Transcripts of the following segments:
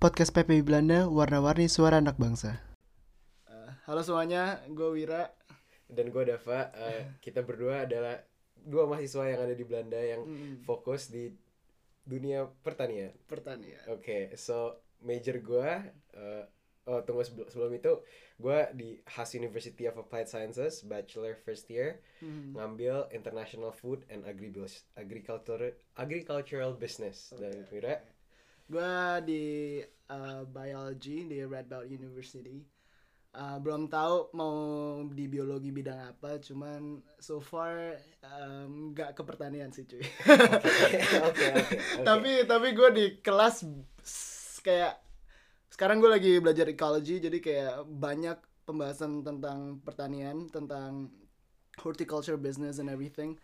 Podcast PPI Belanda, warna-warni suara anak bangsa. Halo semuanya, gue Wira. Dan gue Dava. Kita berdua adalah dua mahasiswa yang ada di Belanda yang fokus di dunia pertanian. Oke, so major gue tunggu sebelum itu gue di Haas University of Applied Sciences, bachelor first year, ngambil International Food and Agricultural Business. Dan Wira, Gue di biology di Red Belt University. Belum tahu mau di biologi bidang apa, cuman so far nggak ke pertanian sih cuy. Oke. Tapi gue di kelas kayak sekarang gue lagi belajar ecology, jadi kayak banyak pembahasan tentang pertanian, tentang horticulture business and everything.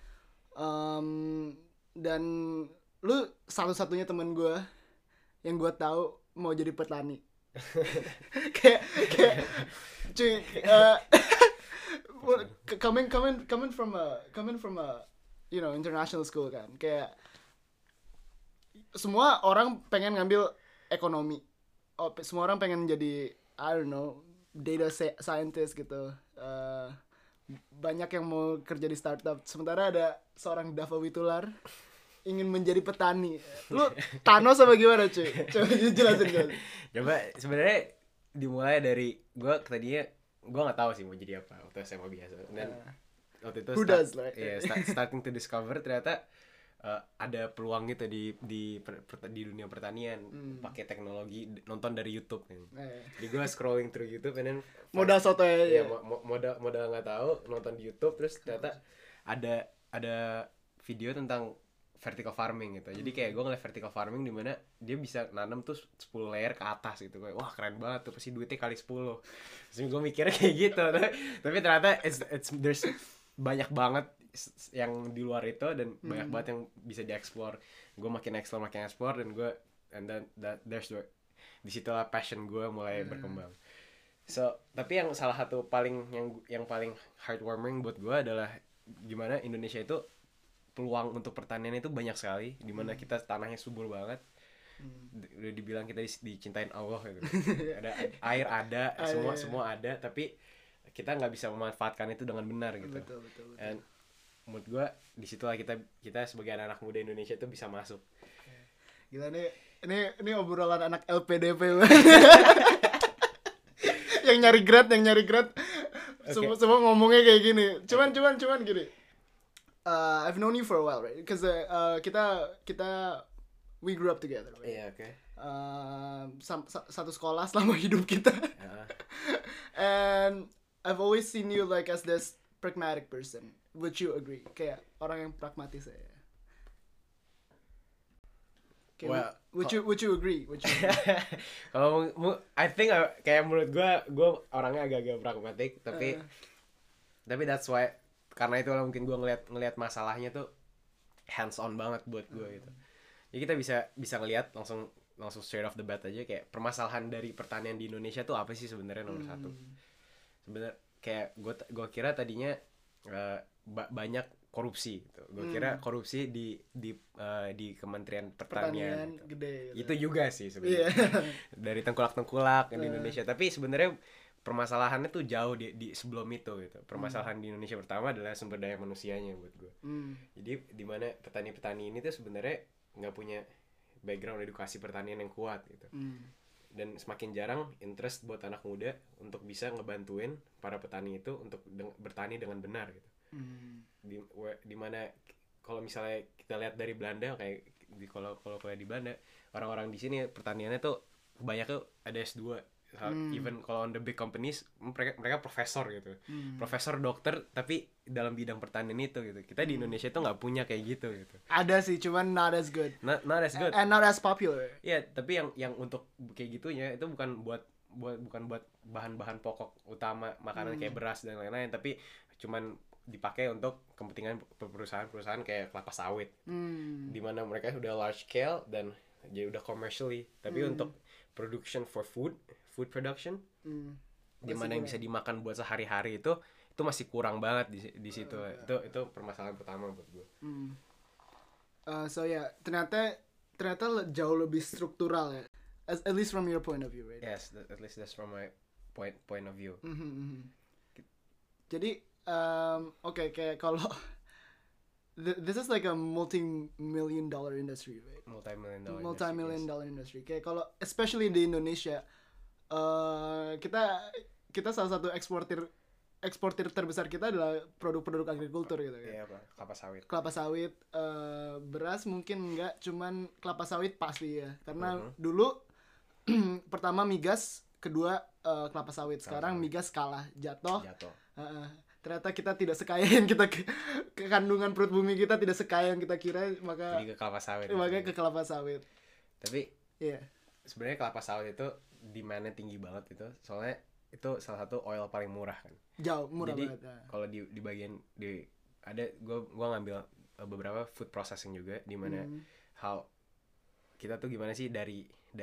Dan lu satu-satunya teman gue yang gue tahu mau jadi petani. kayak cuy, coming from a international school kan, kayak semua orang pengen ngambil ekonomi, semua orang pengen jadi data scientist gitu. Banyak yang mau kerja di startup, sementara ada seorang Dava Witular ingin menjadi petani. Lu Thanos apa gimana cuy? Coba jelasin. Coba sebenarnya dimulai dari gue tadinya gue nggak tahu sih mau jadi apa waktu SMA biasa, dan waktu itu starting to discover ternyata ada peluang gitu di dunia pertanian pakai teknologi, nonton dari YouTube kan. Jadi gue scrolling through YouTube and then modal soto ya. Modal nggak tahu, nonton di YouTube, terus ternyata ada video tentang vertical farming gitu. Jadi kayak gue ngeliat vertical farming di mana dia bisa nanam tuh 10 layer ke atas gitu. Kayak wah keren banget tuh, pasti duitnya kali 10. Terus gue mikirnya kayak gitu. Tapi ternyata there's banyak banget yang di luar itu, dan banyak banget yang bisa dieksplor. Gue makin explore and then there's disitulah passion gue mulai berkembang. So, tapi yang salah satu yang paling heartwarming buat gue adalah gimana Indonesia itu peluang untuk pertanian itu banyak sekali, dimana kita tanahnya subur banget. Udah dibilang kita dicintain Allah gitu. Ada air, ada semua ada, tapi kita nggak bisa memanfaatkan itu dengan benar gitu. Betul. And menurut gue disitulah kita sebagai anak muda Indonesia itu bisa masuk. Gila nih, ini obrolan anak LPDP. yang nyari grad. Okay. Semua ngomongnya kayak gini. Cuman gini. I've known you for a while, right? Because kita we grew up together, right? Yeah, okay. Satu sekolah selama hidup kita. And I've always seen you like as this pragmatic person. Would you agree? Kayak orang yang pragmatis ya. Okay, well, would you agree? Kalau I think kayak menurut gue orangnya agak-agak pragmatik, tapi that's why, karena itu mungkin gue ngelihat masalahnya tuh hands on banget buat gue gitu. Jadi kita bisa ngelihat langsung straight off the bat aja kayak permasalahan dari pertanian di Indonesia tuh apa sih sebenarnya nomor satu. Sebenarnya kayak gue kira tadinya banyak korupsi gitu. Gue kira korupsi di Kementerian Pertanian gitu. Gede, gitu. Itu juga sih sebenarnya. Dari tengkulak di Indonesia, tapi sebenarnya permasalahannya tuh jauh di sebelum itu gitu. Permasalahan di Indonesia pertama adalah sumber daya manusianya buat gue. Jadi di mana petani-petani ini tuh sebenarnya nggak punya background edukasi pertanian yang kuat gitu. Dan semakin jarang interest buat anak muda untuk bisa ngebantuin para petani itu untuk bertani dengan benar gitu. Di mana kalau misalnya kita lihat dari Belanda, kayak kalau di Belanda, orang-orang di sini pertaniannya tuh kebanyakan tuh ada S2. Even kalau on the big companies mereka profesor gitu, profesor, dokter, tapi dalam bidang pertanian itu gitu. Kita di Indonesia tuh nggak punya kayak gitu. Ada sih, cuman not as good and not as popular. Iya, tapi yang untuk kayak gitunya itu bukan buat bahan-bahan pokok utama makanan kayak beras dan lain-lain, tapi cuman dipakai untuk kepentingan perusahaan kayak kelapa sawit, dimana mereka sudah large scale dan jadi udah commercially, tapi untuk production for food production, dimana yang bisa dimakan buat sehari-hari itu masih kurang banget di situ. Itu permasalahan pertama buat gue. So ya, ternyata jauh lebih struktural ya. at least from your point of view, right? Yes, at least that's from my point of view. Jadi okay, kayak kalau this is like a multi-million dollar industry, right? Multi-million dollar industry. Kayak kalau especially di Indonesia, kita salah satu eksportir terbesar kita adalah produk-produk agrikultur gitu kan. Iya, Kelapa sawit, beras mungkin enggak, cuman kelapa sawit pasti ya. Karena dulu pertama migas, kedua kelapa sawit. Sekarang migas kalah, jatuh. Ternyata kita tidak sekaya yang kita kandungan perut bumi kita tidak sekaya yang kita kira, maka jadi ke kelapa sawit. Makanya ke kelapa sawit. Tapi iya. Sebenarnya kelapa sawit itu demand-nya tinggi banget itu. Soalnya itu salah satu oil paling murah kan. Jauh murah jadi, banget. Kalau di bagian ada gua ngambil beberapa food processing juga di mana how kita tuh gimana sih dari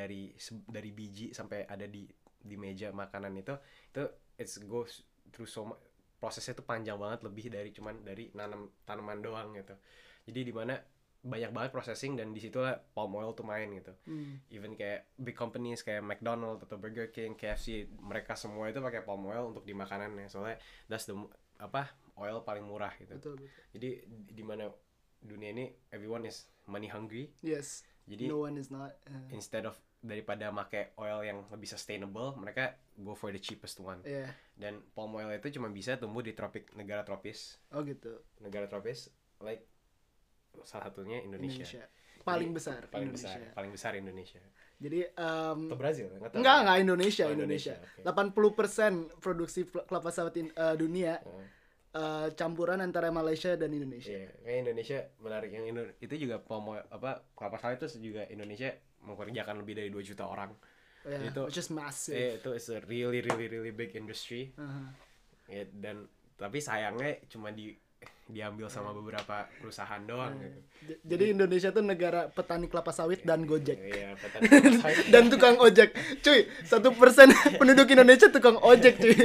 biji sampai ada di meja makanan itu it's goes through so much, prosesnya tuh panjang banget, lebih dari cuman dari tanaman doang gitu. Jadi di mana banyak banget processing, dan di situ lah palm oil tuh main gitu. Even kayak big companies kayak McDonald's atau Burger King, KFC, mereka semua itu pakai palm oil untuk di makanannya. Soalnya that's the oil paling murah gitu. Betul. Jadi di mana dunia ini everyone is money hungry. Yes. Jadi no one is not. Instead of daripada make oil yang lebih sustainable, mereka go for the cheapest one. Yeah. Dan palm oil itu cuma bisa tumbuh di negara tropis. Oh gitu. Negara tropis like salah satunya Indonesia. Paling besar Indonesia. Jadi atau Brazil? Enggak Indonesia. Okay. 80% produksi kelapa sawit dunia campuran antara Malaysia dan Indonesia. Iya, kayak Indonesia menarik, yang itu juga kelapa sawit itu juga Indonesia mempekerjakan lebih dari 2 juta orang. Yeah, which is massive. Itu is a really big industry. Ya, dan tapi sayangnya cuma diambil sama beberapa perusahaan doang gitu. Jadi Indonesia tuh negara petani kelapa sawit dan Gojek. Iya, petani kelapa sawit dan tukang ojek. Cuy, 1% penduduk Indonesia tukang ojek, cuy.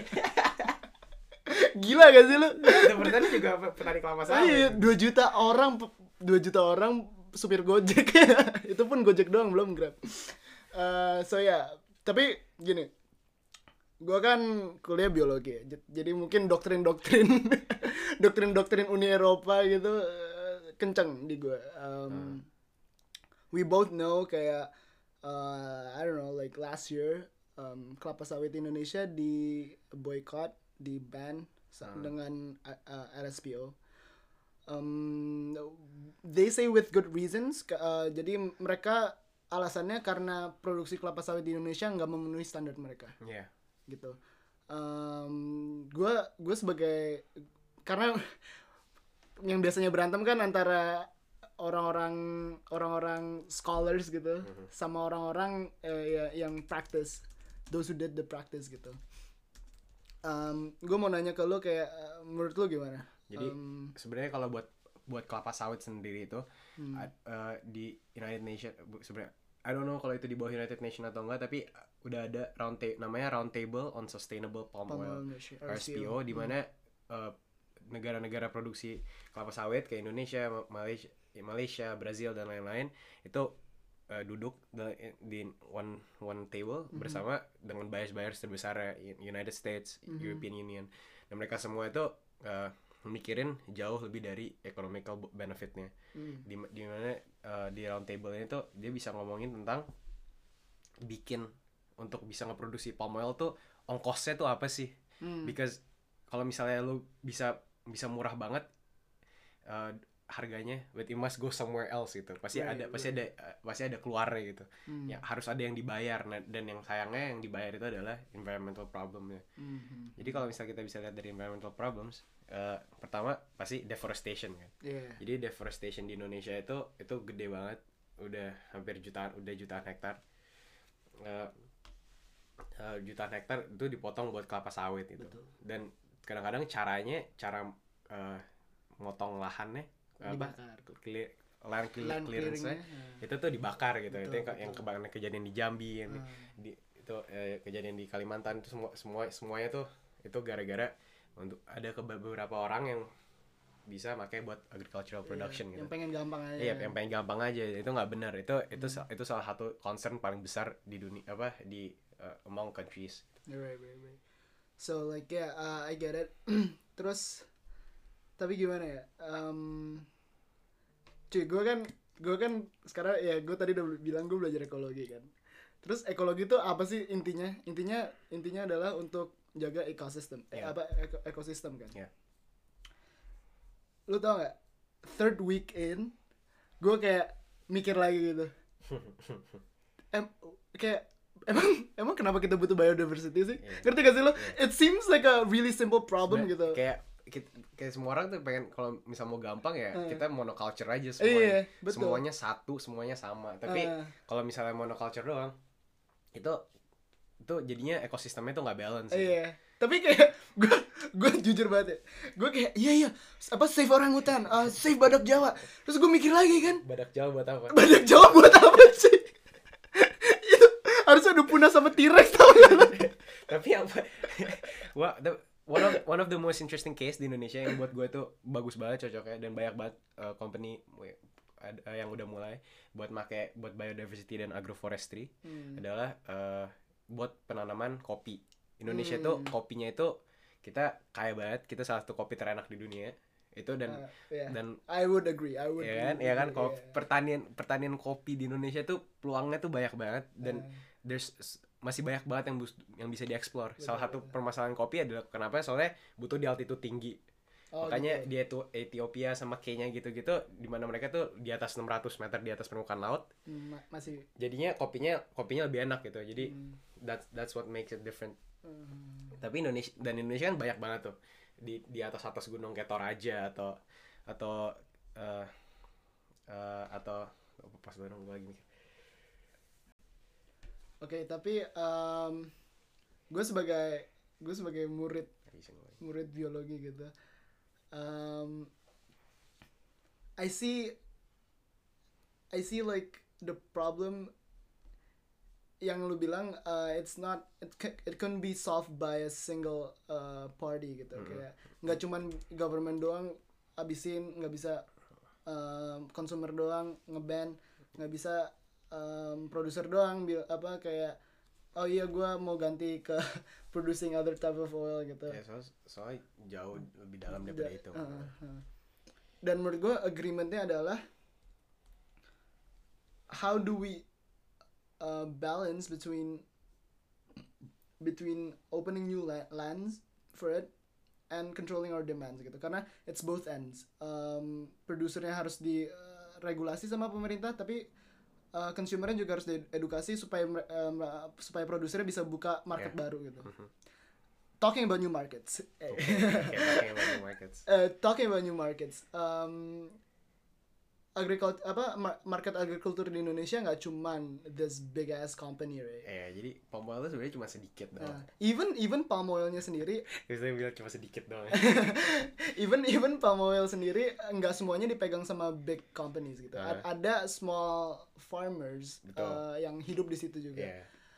Gila gak sih lu? Itu petani juga petani kelapa sawit. Iya, 2 juta orang supir Gojek. Itu pun Gojek doang, belum Grab. Tapi gini. Gua kan kuliah biologi, jadi mungkin doktrin Uni Eropa gitu kenceng di gua. We both know kayak I don't know, like last year kelapa sawit Indonesia di boycott, di ban dengan RSPO. They say with good reasons. Jadi mereka alasannya karena produksi kelapa sawit di Indonesia nggak memenuhi standar mereka. Yeah. Gitu. Gue sebagai, karena yang biasanya berantem kan antara orang-orang scholars gitu sama orang-orang yang practice, those who did the practice gitu. Gue mau nanya ke lo kayak menurut lo gimana? Jadi sebenarnya kalau buat kelapa sawit sendiri itu di United Nations sebenarnya, I don't know kalau itu di bawah United Nations atau enggak, tapi udah ada namanya Round Table on Sustainable Palm Oil, RSPO, di mana negara-negara produksi kelapa sawit kayak Indonesia, Malaysia, Brazil dan lain-lain itu duduk di one table bersama dengan buyers terbesar United States, European Union, dan mereka semua itu mikirin jauh lebih dari economical benefitnya. Di mana di round table ini tuh dia bisa ngomongin tentang bikin untuk bisa ngeproduksi palm oil tuh ongkosnya tuh apa sih? Because kalau misalnya lu bisa murah banget harganya, but it must go somewhere else gitu. Pasti ada keluarnya gitu. Ya harus ada yang dibayar, dan yang sayangnya yang dibayar itu adalah environmental problemnya. Jadi kalau misalnya kita bisa lihat dari environmental problems, pertama pasti deforestation kan. Jadi deforestation di Indonesia itu gede banget, udah hampir jutaan hektar. Jutaan hektar itu dipotong buat kelapa sawit gitu. Betul. Dan kadang-kadang cara motong lahannya dibakar, land clearance-nya itu tuh dibakar gitu. Betul, itu yang kebanyakan kejadian di Jambi, itu kejadian di Kalimantan, itu semuanya tuh itu gara-gara untuk ada beberapa orang yang bisa pakai buat agricultural production gitu. Yang pengen gampang aja. Iya, yang pengen gampang aja. Itu nggak benar. Itu salah satu concern paling besar di dunia di among countries. Right. So like I get it. Terus tapi gimana ya? Cuy, gue kan sekarang ya gue tadi udah bilang gue belajar ekologi kan. Terus ekologi itu apa sih intinya? Intinya adalah untuk jaga ekosistem. Ekosistem kan. Yeah. Lu tau gak? Third week in, gue kayak mikir lagi gitu. Kayak emang kenapa kita butuh biodiversity sih? Yeah. Ngerti gak sih lo? Yeah. It seems like a really simple problem gitu. Kayak semua orang tuh pengen kalau misal mau gampang ya kita monoculture aja semuanya. Semuanya satu, semuanya sama. Tapi kalau misalnya monoculture doang itu jadinya ekosistemnya tuh nggak balance. Iya. Tapi kayak gue jujur banget ya. Gue kayak iya apa save orangutan, save badak Jawa. Terus gue mikir lagi kan. Badak Jawa buat apa? Badak Jawa buat apa sih? Itu harusnya udah punah sama T-Rex tau gak? Tapi apa? One of the most interesting case di Indonesia yang buat gue tuh bagus banget cocoknya dan banyak banget company yang udah mulai buat biodiversity dan agroforestry adalah buat penanaman kopi. Indonesia tuh kopinya itu kita kaya banget, kita salah satu kopi terenak di dunia itu dan I would agree. Ya kan kalau pertanian kopi di Indonesia tuh peluangnya tuh banyak banget dan masih banyak banget yang bisa dieksplor. Salah satu permasalahan kopi adalah kenapa soalnya butuh di altitude tinggi. Makanya gitu. Dia tuh Ethiopia sama Kenya gitu-gitu di mana mereka tuh di atas 600 meter di atas permukaan laut. Masih jadinya kopinya lebih enak gitu. Jadi that's what makes it different. Tapi Indonesia kan banyak banget tuh di atas gunung kayak Toraja atau pas gue lagi mikir. Oke, tapi gue sebagai murid biologi gitu. I see like the problem yang lu bilang it can be solved by a single party gitu. Kayak nggak cuman government doang abisin, nggak bisa consumer doang ngeban, nggak bisa producer doang kayak oh iya gue mau ganti ke producing other type of oil gitu. Ya soalnya jauh lebih dalam daripada itu. Dan menurut gue agreementnya adalah how do we balance between opening new lands for it and controlling our demands gitu, karena it's both ends. Produsernya harus diregulasi sama pemerintah, tapi consumernya juga harus diedukasi supaya produsernya bisa buka market baru gitu. Talking about new markets. Talking about new markets. Market agriculture di Indonesia nggak cuman this big ass company, right? Jadi palm oil itu sebenarnya cuma sedikit doang. Even palm oilnya sendiri. Saya bilang cuma sedikit doang. even palm oil sendiri nggak semuanya dipegang sama big companies gitu. Ada small farmers yang hidup di situ juga.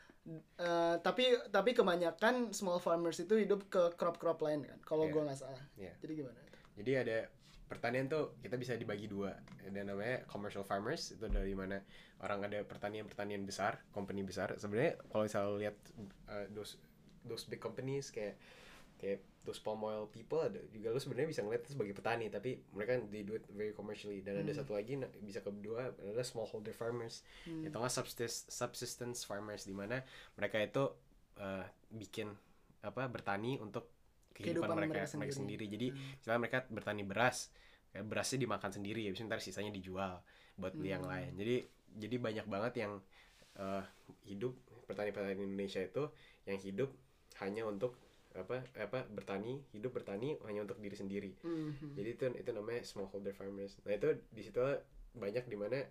Tapi kebanyakan small farmers itu hidup ke crop lain kan, kalau gue nggak salah. Jadi gimana? Jadi ada pertanian tuh kita bisa dibagi dua. Ada namanya commercial farmers, itu dari mana orang ada pertanian besar, company besar. Sebenarnya kalau misalnya lihat those big companies kayak those palm oil people, ada juga lu sebenarnya bisa ngeliat itu sebagai petani, tapi mereka they do it very commercially. Dan ada satu lagi bisa kedua adalah smallholder farmers, itu nggak subsistence farmers, di mana mereka itu bikin bertani untuk kehidupan mereka sendiri. Jadi misalnya mereka bertani berasnya dimakan sendiri, habis ntar sisanya dijual buat beli yang lain. Jadi banyak banget yang hidup petani-petani Indonesia itu yang hidup hanya untuk bertani hanya untuk diri sendiri. Jadi itu namanya smallholder farmers. Nah itu di situ banyak di mana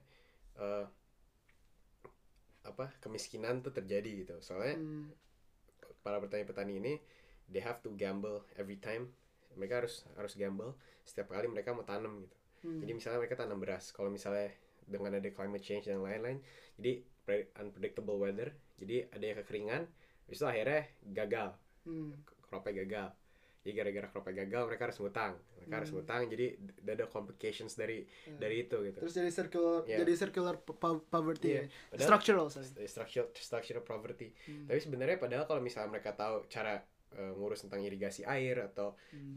kemiskinan tuh terjadi gitu. Soalnya para petani-petani ini they have to gamble every time. Mereka harus gamble setiap kali mereka mau tanam gitu. Jadi misalnya mereka tanam beras, kalau misalnya dengan ada climate change dan lain-lain, jadi unpredictable weather, jadi ada yang kekeringan, habis itu akhirnya gagal, cropnya gagal. Jadi gara-gara cropnya gagal mereka harus ngutang. Jadi ada complications dari itu gitu. Terus Yeah. jadi circular poverty. Iya. Padahal- structural poverty. Tapi sebenarnya padahal kalau misalnya mereka tahu cara ngurus tentang irigasi air atau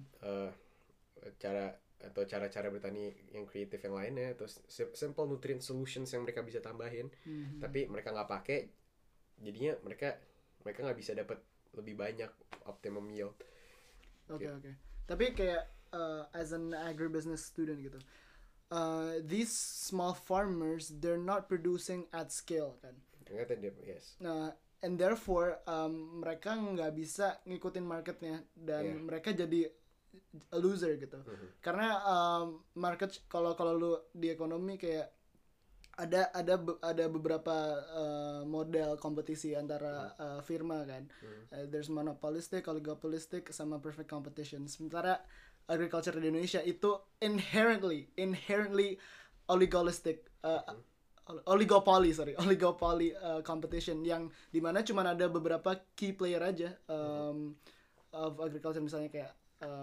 cara bertani yang kreatif yang lainnya, atau simple nutrient solutions yang mereka bisa tambahin, tapi mereka nggak pakai, jadinya mereka nggak bisa dapat lebih banyak optimum yield. Oke. Tapi kayak as an agribusiness student gitu, these small farmers they're not producing at scale kan. Ternyata dia yes. Nah, and therefore mereka nggak bisa ngikutin marketnya dan mereka jadi a loser gitu. Karena market kalau lu di ekonomi kayak ada beberapa model kompetisi antara firma kan. There's monopolistic, oligopolistic, sama perfect competition. Sementara agriculture di Indonesia itu inherently oligopolistic, oligopoly competition yang dimana cuma ada beberapa key player aja of agriculture, misalnya kayak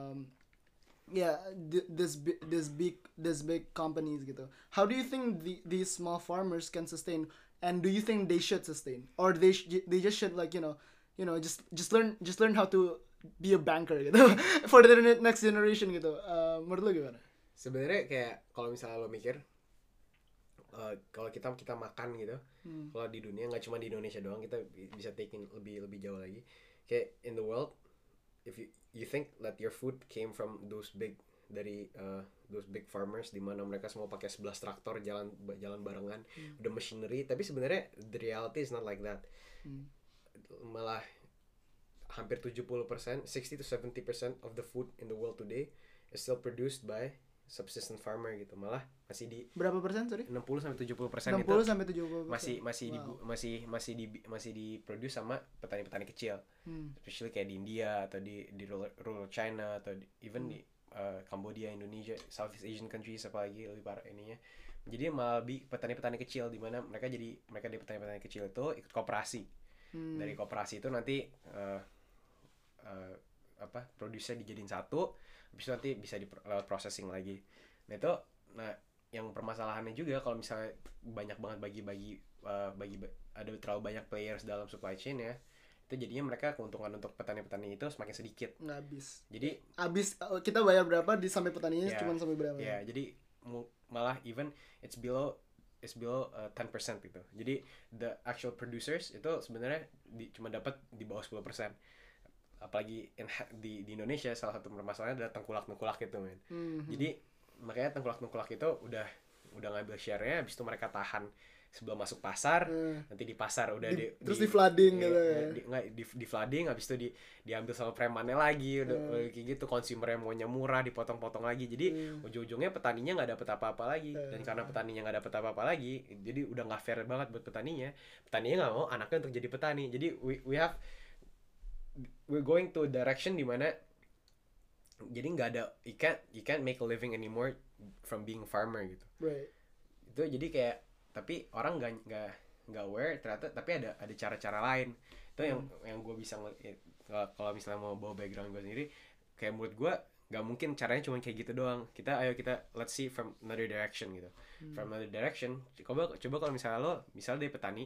this big companies gitu. How do you think these small farmers can sustain, and do you think they should sustain, or they just should like just learn how to be a banker gitu for the next generation gitu. Menurut lo gimana? Sebenarnya kayak kalau misalnya lo mikir kalau kita makan gitu, kalau di dunia nggak cuma di Indonesia doang, kita bisa taking lebih jauh lagi. Kayak in the world, if you think that your food came from those big farmers di mana mereka semua pakai 11 traktor jalan barengan, udah machinery, tapi sebenarnya the reality is not like that. Malah hampir 70%, 60 to 70% of the food in the world today is still produced by subsistence farmer gitu. Malah masih di berapa persen, sorry? 60 sampai 70% 60 itu sampai 70%. masih diproduce sama petani-petani kecil. Especially kayak di India atau di rural China atau even di Cambodia, Indonesia, Southeast Asian countries apalagi lebih parah ininya. Jadi malah petani-petani kecil di mana mereka dari petani-petani kecil itu ikut koperasi. Dari koperasi itu nanti produsernya dijadiin satu, habis itu nanti bisa lewat processing lagi. Nah yang permasalahannya juga kalau misalnya banyak banget bagi ada terlalu banyak players dalam supply chain ya, itu jadinya mereka keuntungan untuk petani-petani itu semakin sedikit. Nggak habis. Jadi kita bayar berapa sampai petaninya cuma sampai berapa? Ya, jadi malah even it's below 10% gitu. Jadi the actual producers itu sebenarnya cuma dapat di bawah 10%. Apalagi di Indonesia salah satu permasalahannya adalah tengkulak gitu, men. Jadi makanya tengkulak itu udah ngambil share-nya, habis itu mereka tahan sebelum masuk pasar, nanti di pasar udah terus di flooding gitu ya. Di flooding, habis itu diambil sama premannya lagi, udah kayak gitu, consumer yang maunya murah dipotong-potong lagi. Jadi ujung-ujungnya petaninya nggak dapet apa-apa lagi. Dan karena petaninya nggak dapet apa-apa lagi, jadi udah nggak fair banget buat petaninya nggak mau anaknya untuk jadi petani. Jadi we're going to a direction di mana jadi nggak ada, you can't make a living anymore from being a farmer gitu. Right. Itu jadi kayak, tapi orang nggak aware ternyata, tapi ada cara-cara lain. Itu yang gue bisa kalau misalnya mau bawa background gue sendiri, kayak menurut gue nggak mungkin caranya cuma kayak gitu doang. Kita let's see from another direction gitu. From another direction, coba kalau misalnya dari petani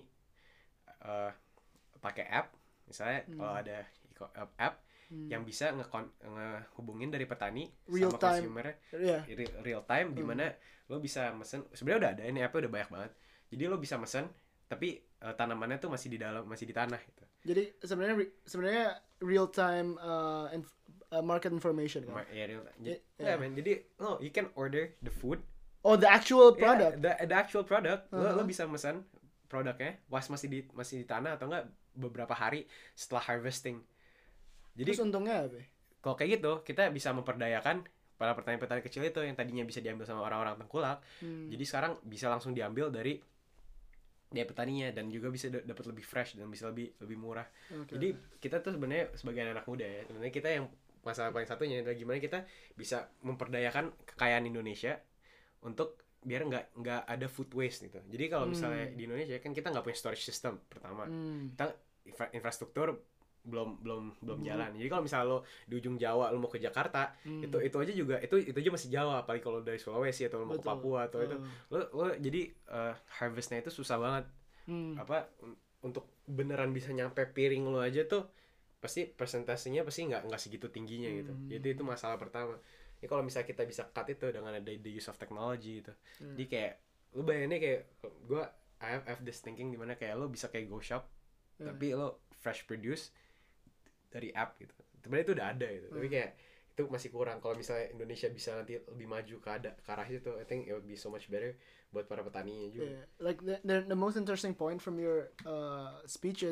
pakai app, misalnya kalau ada app yang bisa ngehubungin dari petani real sama time. consumer real time, di mana lo bisa mesen. Sebenarnya udah ada, ini app-nya udah banyak banget. Jadi lo bisa mesen, tapi tanamannya tuh masih di tanah gitu. Jadi sebenarnya real time market information kan. Real time. Man. Jadi you can order the food. Oh, the actual product. The actual product. Lo bisa mesen produknya masih di tanah atau enggak beberapa hari setelah harvesting. Jadi terus untungnya apa? Kalau kayak gitu, kita bisa memperdayakan para petani-petani kecil itu yang tadinya bisa diambil sama orang-orang tengkulak. Jadi sekarang bisa langsung diambil dari petaninya, dan juga bisa dapat lebih fresh dan bisa lebih murah. Jadi kita tuh sebenarnya sebagai anak muda ya, sebenarnya kita yang masalah paling satunya adalah gimana kita bisa memperdayakan kekayaan Indonesia untuk biar nggak ada food waste gitu. Jadi kalau misalnya di Indonesia kan kita nggak punya storage system pertama. Kita infrastruktur belum jalan. Jadi kalau misalnya lo di ujung Jawa lo mau ke Jakarta, itu aja juga itu aja masih Jawa, apalagi kalau dari Sulawesi atau lo mau ke Papua atau itu lo jadi harvestnya itu susah banget. Untuk beneran bisa nyampe piring lo aja tuh pasti persentasenya pasti nggak segitu tingginya gitu. Jadi itu masalah pertama. Ya kalau misalnya kita bisa cut itu dengan ada the use of technology gitu. Jadi kayak lo bayanginnya kayak I have this thinking dimana kayak lo bisa kayak go shop tapi lo fresh produce dari app gitu. Sebenarnya itu udah ada gitu. Tapi kayak itu masih kurang. Kalau misalnya Indonesia bisa nanti lebih maju ke arah itu, I think it would be so much better buat para petaninya juga. Yeah. Like the most interesting point from your speech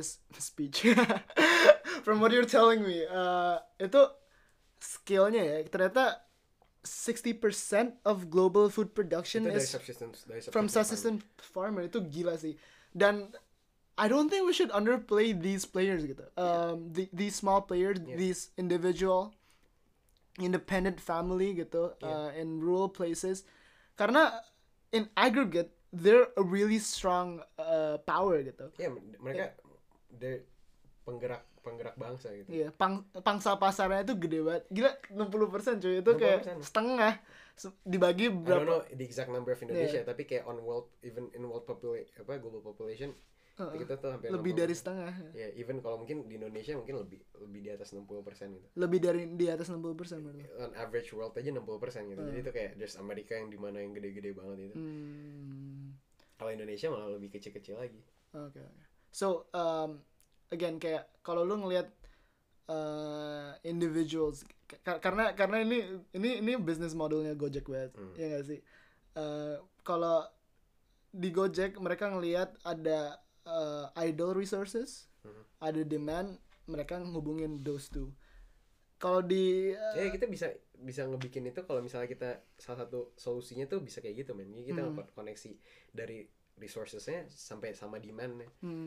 from what you're telling me, itu skillnya ya ternyata 60% of global food production Itu is from subsistence farmer. Itu gila sih. Dan I don't think we should underplay these players gitu. These small players, these individual independent family gitu, in rural places. Karena in aggregate they're a really strong power gitu. Mereka they're penggerak bangsa gitu. Iya, pangsa pasarnya itu gede banget. Gila 60% cuy. Itu 60%. Kayak setengah dibagi berapa? I don't know the exact number of Indonesia, tapi kayak on world, even in world global population kita tuh hampir lebih 60%. dari setengah. Ya, even kalau mungkin di Indonesia mungkin lebih di atas 60% gitu. Lebih dari di atas 60% berarti. On average world aja 60% gitu. Jadi itu kayak there's Amerika yang dimana yang gede-gede banget itu. Kalau Indonesia malah lebih kecil-kecil lagi. Okay. So again kayak kalau lu ngelihat individuals karena ini business modelnya Gojek banget. Ya nggak sih? Kalau di Gojek mereka ngelihat ada idle resources, ada demand, mereka ngehubungin those two. Kalau di kita bisa ngebikin itu kalau misalnya kita salah satu solusinya tuh bisa kayak gitu men. Jadi kita koneksi dari resourcesnya sampai sama demandnya.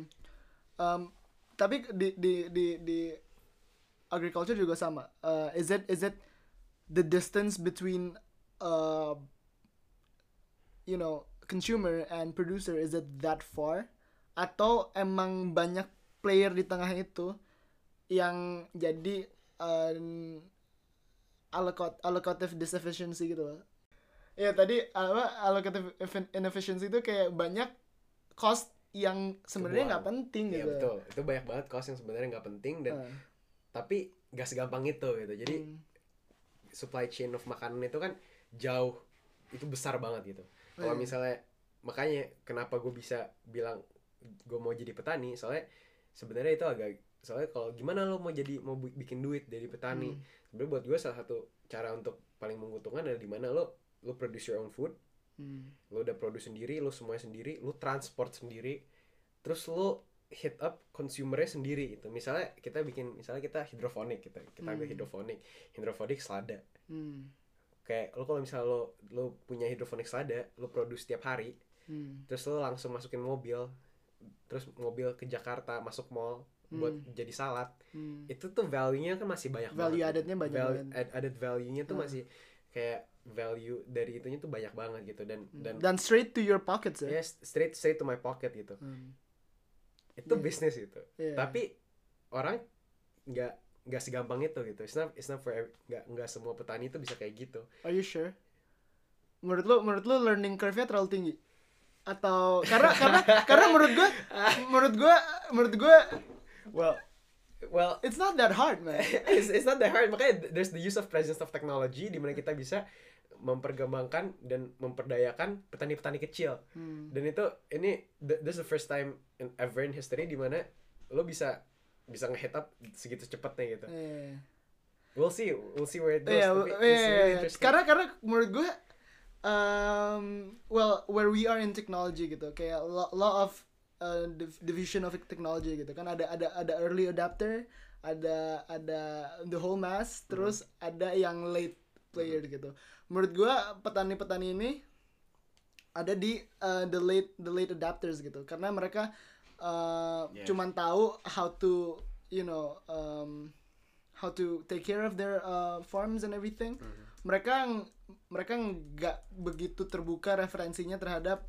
Tapi di agriculture juga sama. Is it the distance between consumer and producer, is it that far? Atau emang banyak player di tengah itu yang jadi allocative disefficiency gitu loh. Ya tadi allocative inefficiency itu kayak banyak cost yang sebenarnya nggak penting gitu. Iya betul, itu banyak banget cost yang sebenarnya nggak penting dan tapi nggak segampang itu gitu. Jadi supply chain of makanan itu kan jauh, itu besar banget gitu. Kalau misalnya makanya kenapa gue bisa bilang gue mau jadi petani, soalnya sebenarnya itu soalnya kalau gimana lo mau bikin duit dari petani, sebenarnya buat gue salah satu cara untuk paling menguntungkan adalah di mana lo produce your own food, lo udah produce sendiri, lo semuanya sendiri, lo transport sendiri, terus lo hit up consumernya sendiri gitu. Misalnya kita hidroponik, kita ambil hidroponik selada. Kayak lo kalau misalnya lo punya hidroponik selada, lo produce tiap hari, terus lo langsung masukin mobil, terus mobil ke Jakarta masuk mall buat jadi salad, itu tuh value-nya kan masih banyak value banget. added-nya banyak banget. Added value-nya tuh masih kayak value dari itunya tuh banyak banget gitu dan straight to your pockets ya. Yes, straight to my pocket gitu. Itu bisnis itu. Tapi orang nggak segampang itu gitu. It's not for nggak semua petani itu bisa kayak gitu. Are you sure? Menurut lu learning curve-nya terlalu tinggi? Atau karena menurut gue well it's not that hard man. It's not that hard, makanya there's the use of presence of technology di mana kita bisa memperkembangkan dan memperdayakan petani-petani kecil. Dan this is the first time ever in history di mana lo bisa nge-hit up segitu cepatnya gitu. We'll see where it goes. Really interesting. Karena menurut gue where we are in technology gitu, kayak law of division of technology gitu kan, ada early adapter, ada the whole mass, terus ada yang late player gitu. Menurut gue petani-petani ini ada di the late adapters gitu, karena mereka cuman tahu how to how to take care of their farms and everything. Mereka nggak begitu terbuka referensinya terhadap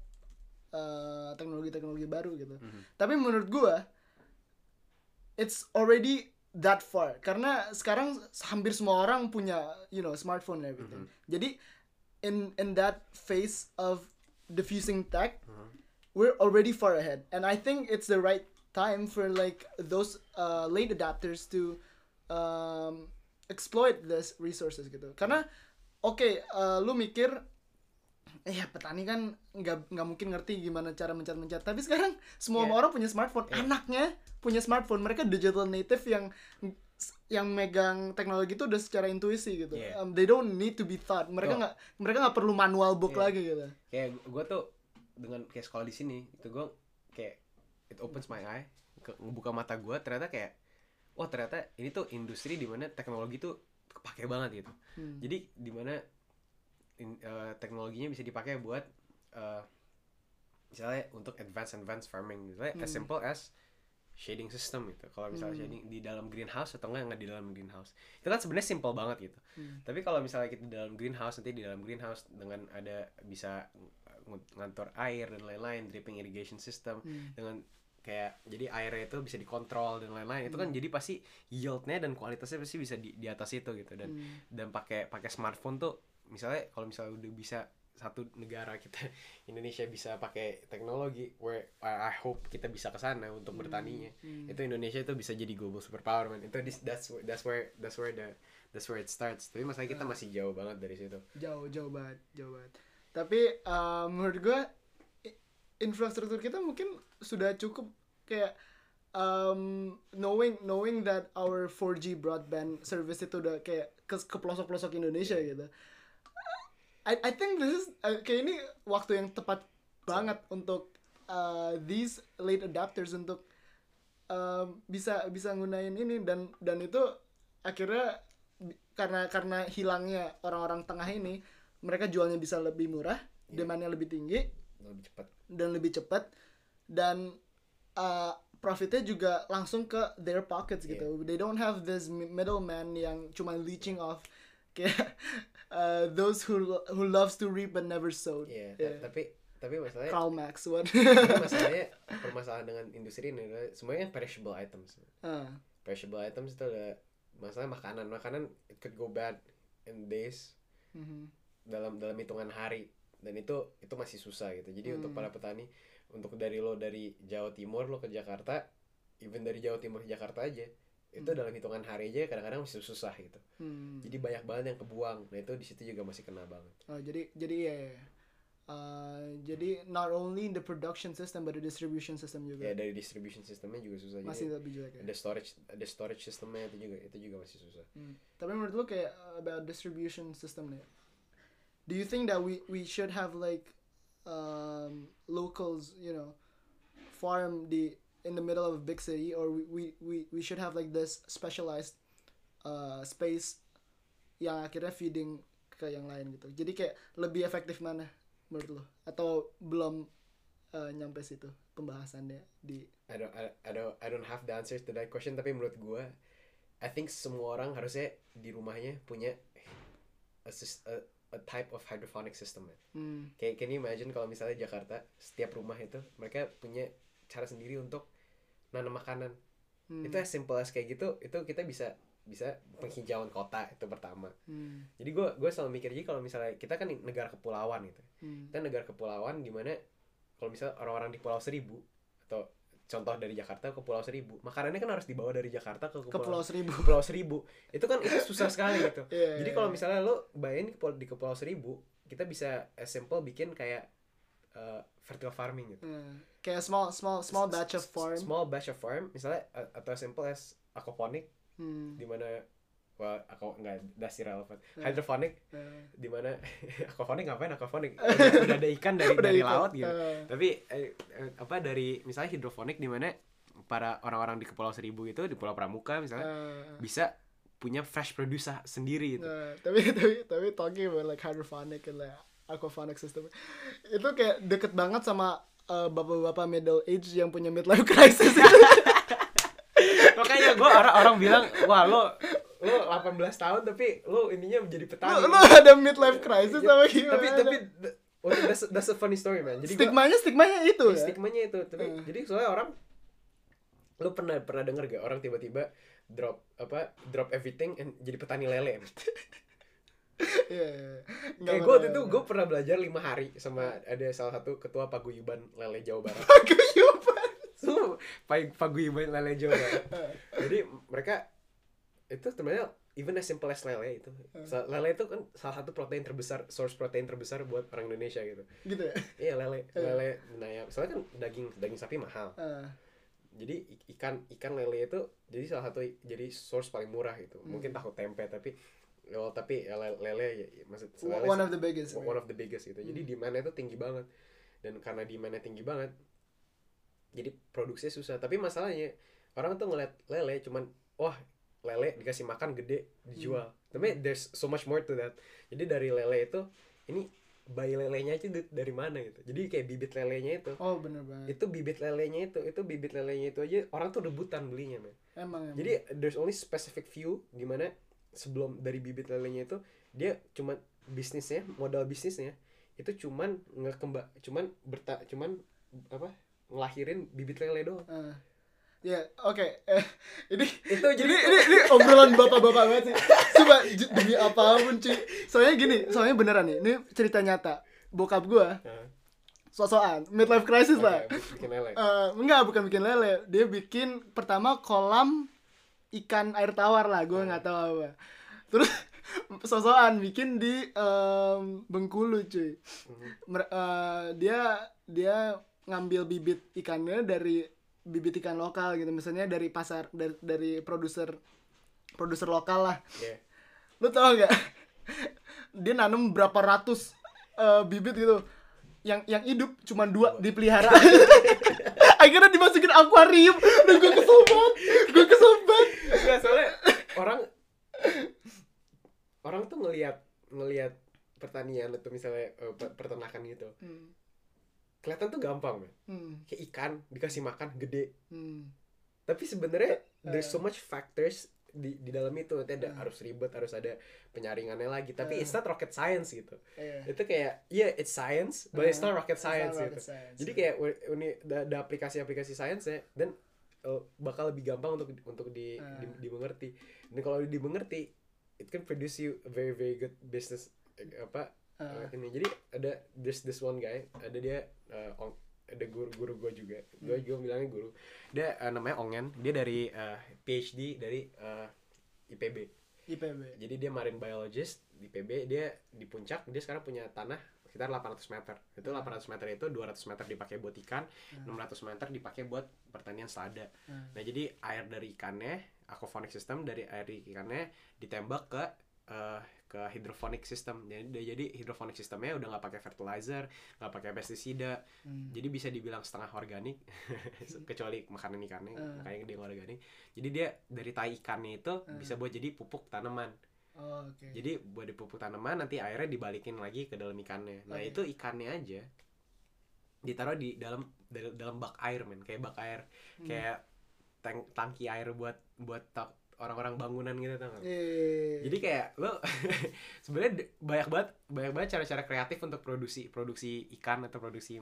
teknologi baru gitu. Tapi menurut gue it's already that far karena sekarang hampir semua orang punya smartphone and everything. Jadi in that phase of diffusing tech, we're already far ahead, and I think it's the right time for like those late adapters to exploit this resources gitu. Karena lu mikir petani kan nggak mungkin ngerti gimana cara mencat, tapi sekarang semua orang punya smartphone, anaknya punya smartphone, mereka digital native yang megang teknologi itu udah secara intuisi gitu. They don't need to be taught, mereka nggak perlu manual book lagi gitu. Kayak gue tuh dengan kayak sekolah di sini itu gue kayak it opens my eye, ngebuka mata gue, ternyata kayak ternyata ini tuh industri di mana teknologi tuh kepake banget gitu. Jadi di mana teknologinya bisa dipakai buat misalnya untuk advanced farming, misalnya as simple as shading system gitu. Kalau misalnya shading di dalam greenhouse atau nggak di dalam greenhouse, itu kan sebenarnya simple banget gitu. Tapi kalau misalnya kita di dalam greenhouse, nanti di dalam greenhouse dengan ada bisa ngatur air dan lain-lain, dripping irrigation system, dengan kayak jadi airnya itu bisa dikontrol dan lain-lain, itu kan jadi pasti yieldnya dan kualitasnya pasti bisa di atas itu gitu. Dan pakai smartphone tuh misalnya kalau misalnya udah bisa satu negara kita Indonesia bisa pakai teknologi, where I hope kita bisa ke sana untuk bertaninya, itu Indonesia itu bisa jadi global superpower man. Itu that's where it starts. Tapi masalah kita masih jauh banget dari situ. Jauh banget. Tapi menurut gue infrastruktur kita mungkin sudah cukup kayak knowing that our 4G broadband service itu udah kayak ke pelosok-pelosok Indonesia gitu. I think this is kayak ini waktu yang tepat banget untuk these late adapters untuk bisa ngunain ini, dan itu akhirnya karena hilangnya orang-orang tengah ini, mereka jualnya bisa lebih murah, demandnya lebih tinggi, lebih cepat, dan profitnya juga langsung ke their pockets gitu. They don't have this middleman yang cuma leeching off kayak those who loves to reap but never sowed. Tapi masalahnya Karl Marx what? Permasalahan dengan industri ini adalah semuanya perishable items. Perishable items itu adalah masalah makanan it could go bad in days, dalam hitungan hari, dan itu masih susah gitu. Jadi untuk para petani, untuk dari Jawa Timur lo ke Jakarta, even dari Jawa Timur ke Jakarta aja itu dalam hitungan hari aja kadang-kadang masih susah gitu. Jadi banyak banget yang kebuang. Nah itu di situ juga masih kena banget. Jadi jadi not only the production system but the distribution system juga. Dari distribution systemnya juga susah. Masih lebih jelek ya. Ada storage systemnya itu juga masih susah. Tapi menurut lo kayak about distribution system nih, do you think that we should have like locals, farm in the middle of a big city, or we should have like this specialized space yang akhirnya feeding ke yang lain gitu. Jadi kayak lebih efektif mana menurut lo? Atau belum nyampe situ pembahasannya di I don't have the answers to that question, tapi menurut gue I think semua orang harusnya di rumahnya punya a type of hydroponic system. Kayak can you imagine kalau misalnya Jakarta setiap rumah itu mereka punya cara sendiri untuk nanam makanan. Itu as simple as kayak gitu, itu kita bisa penghijauan kota itu pertama. Jadi gue selalu mikir, jadi kalau misalnya kita kan negara kepulauan gitu, kita negara kepulauan di mana kalau misalnya orang-orang di Pulau Seribu atau contoh dari Jakarta ke Pulau Seribu, makanannya kan harus dibawa dari Jakarta ke Pulau Seribu. Pulau Seribu itu kan itu susah sekali gitu. Jadi kalau misalnya lo bayangin di Pulau Seribu, kita bisa as simple bikin kayak vertical farming gitu. Kayak small batch of farm. Small batch of farm misalnya, atau as simple as aquaponic, di mana aku nggak dasih relevan. Hydroponic, di mana aquaponic ngapain? Aquaponic udah ada ikan dari laut gitu. Tapi dari misalnya hidroponik di mana para orang-orang di Kepulauan Seribu itu, di Pulau Pramuka misalnya, bisa punya fresh produce sendiri gitu. Tapi talking about like hydroponic and like aquaponic system, itu kayak deket banget sama bapak-bapak middle age yang punya midlife crisis. Makanya gue orang bilang, wah lo 18 tahun tapi lo ininya menjadi petani. Lo ada midlife crisis sama gimana? Tapi that's a funny story man. Jadi stigmanya itu. Stigmanya itu. Tapi jadi soalnya orang Lu pernah denger gak orang tiba-tiba drop everything and jadi petani lele? Iya. Kayak gue waktu itu gue pernah belajar 5 hari sama ada salah satu ketua paguyuban lele Jawa Barat. Paguyuban. Paguyuban lele Jawa Barat. Jadi mereka itu sebenarnya even as simple as lele itu. Lele itu kan salah satu protein terbesar, source protein terbesar buat orang Indonesia gitu. Gitu ya? Iya, lele. Nah ya, soalnya kan daging sapi mahal. Jadi ikan lele itu jadi salah satu jadi source paling murah gitu. Mungkin tahu tempe tapi lele ya, maksud lele one of the biggest gitu. Jadi demand-nya itu tinggi banget. Dan karena demand-nya tinggi banget, jadi produksinya susah. Tapi masalahnya orang tuh ngeliat lele cuman wah, lele dikasih makan gede dijual. Tapi there's so much more to that. Jadi dari lele itu ini bayi lelenya aja dari mana gitu. Jadi kayak bibit lelenya itu. Oh, bener banget. Itu bibit lelenya itu aja orang tuh rebutan belinya, men. Emang. Jadi there's only specific few gimana sebelum dari bibit lelenya itu dia cuman modal bisnisnya itu cuman ngelahirin bibit lele doang. Ya, oke. Ini obrolan bapak-bapak banget sih. Coba demi apapun, cuy. Soalnya beneran nih. Ini cerita nyata. Bokap gua sosokan midlife crisis lah. Bikin lele. Enggak, bukan bikin lele. Dia bikin pertama kolam ikan air tawar lah, gue nggak tahu apa. Terus sosokan bikin di Bengkulu, cuy. Dia ngambil bibit ikannya dari bibit ikan lokal gitu, misalnya dari pasar, dari produser lokal lah. Yeah. Lu tau nggak? Dia nanam berapa ratus bibit gitu, yang hidup cuma 2 dipelihara. Akhirnya dimasukin akuarium. Dan gue kesel banget. Enggak, soalnya orang tuh ngelihat pertanian atau misalnya peternakan gitu. Kelihatan tuh gampang, man. Kayak ikan dikasih makan gede. Tapi sebenarnya there's so much factors di dalam itu. Nanti harus ribet, harus ada penyaringannya lagi. Tapi it's not rocket science gitu. Itu kayak it's science, but it's not rocket science gitu. Jadi kayak ada aplikasi science ya, dan bakal lebih gampang untuk dimengerti. Dan kalau dimengerti, it can produce you a very very good business ini. Jadi there's this one guy, ada guru gue juga. Gue juga bilangnya guru. Dia namanya Ongen. Dia dari PhD dari IPB. Jadi dia marine biologist di IPB. Dia di puncak. Dia sekarang punya tanah sekitar 800 meter. Itu 800 meter itu 200 meter dipakai buat ikan, 600 meter dipakai buat pertanian selada. Nah, jadi air dari ikannya, aquaponic system, dari air ikannya ditembak ke hydroponic system. Jadi hydroponic systemnya udah nggak pakai fertilizer, nggak pakai pestisida. Jadi bisa dibilang setengah organik, kecuali makanan ikannya, makanya dia nggak organik. Jadi dia dari tai ikannya itu bisa buat jadi pupuk tanaman. Jadi buat di pupuk tanaman, nanti airnya dibalikin lagi ke dalam ikannya. Nah itu ikannya aja ditaruh di dalam bak air, men, kayak bak air, kayak tangki air buat orang-orang bangunan gitu, tau gak? Jadi kayak lo sebenarnya banyak banget cara-cara kreatif untuk produksi ikan atau produksi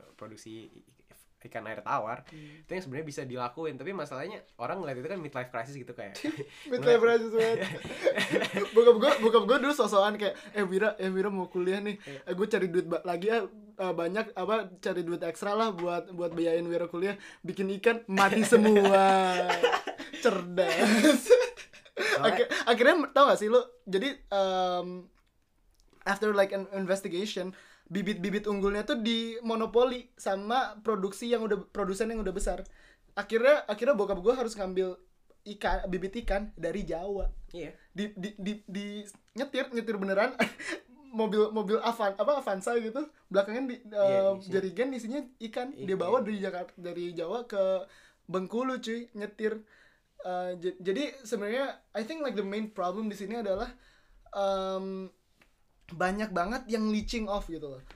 ikan air tawar. Itu yang sebenarnya bisa dilakuin, tapi masalahnya orang ngeliat itu kan midlife crisis gitu kayak. Midlife crisis banget. Bokap gue dulu sosokan kayak Wira mau kuliah nih. Gue cari duit lagi banyak cari duit ekstra lah buat biayain Wira kuliah. Bikin ikan mati semua. Cerdas. Akhirnya tau gak sih lo? Jadi after like an investigation, bibit-bibit unggulnya tuh dimonopoli sama produsen yang udah besar. Akhirnya bokap gue harus ngambil bibit ikan dari Jawa. Iya. Di nyetir beneran. mobil Avanza gitu, belakangnya jerigen isinya ikan. Dia bawa dari Jawa ke Bengkulu, cuy, nyetir. Jadi sebenarnya I think like the main problem di sini adalah banyak banget yang leaching off gitu loh.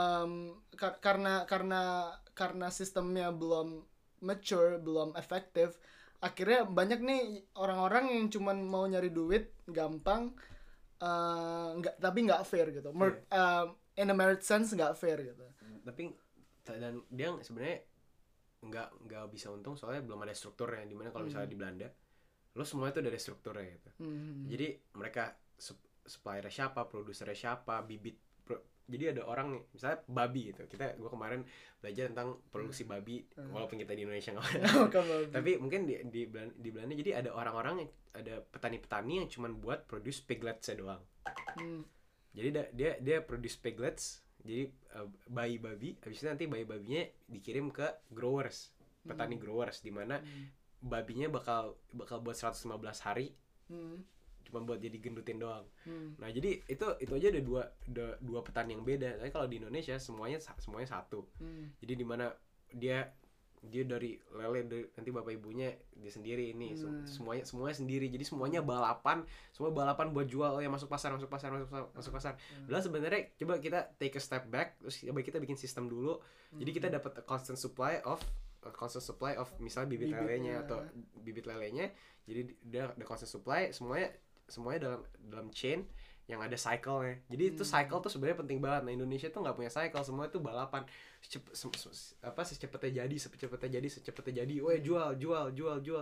Karena sistemnya belum mature, belum efektif. Akhirnya banyak nih orang-orang yang cuman mau nyari duit gampang, tapi nggak fair gitu. In a merit sense nggak fair gitu. Tapi dan dia sebenarnya nggak bisa untung soalnya belum ada strukturnya, dimana kalau misalnya di Belanda lo semuanya tuh udah ada strukturnya gitu. Jadi mereka suppliernya siapa, produsernya siapa, jadi ada orang nih, misalnya babi gitu. Gue kemarin belajar tentang produksi babi, walaupun kita di Indonesia nggak ada. Tapi mungkin di Belanda jadi ada orang-orang, ada petani-petani yang cuman buat produce piglets doang. Jadi dia produce piglets, jadi bayi babi. Habis itu nanti bayi babinya dikirim ke growers, petani growers, di mana babinya bakal buat 115 hari. Cuma buat jadi gendutin doang. Nah, jadi itu aja ada dua petani yang beda. Tapi kalau di Indonesia semuanya satu. Jadi di mana dia dari lele, nanti bapak ibunya dia sendiri ini, semuanya sendiri. Jadi semuanya balapan buat jual. Oh ya, masuk pasar. Padahal sebenarnya coba kita take a step back, terus coba kita bikin sistem dulu. Jadi kita dapat a constant supply of misalnya bibit lelenya atau bibit lelenya. Jadi dia ada constant supply, semuanya dalam chain yang ada cycle-nya. Jadi itu cycle tuh sebenarnya penting banget. Nah, Indonesia tuh nggak punya cycle, semua itu balapan. Secepatnya jadi. Wah, jual.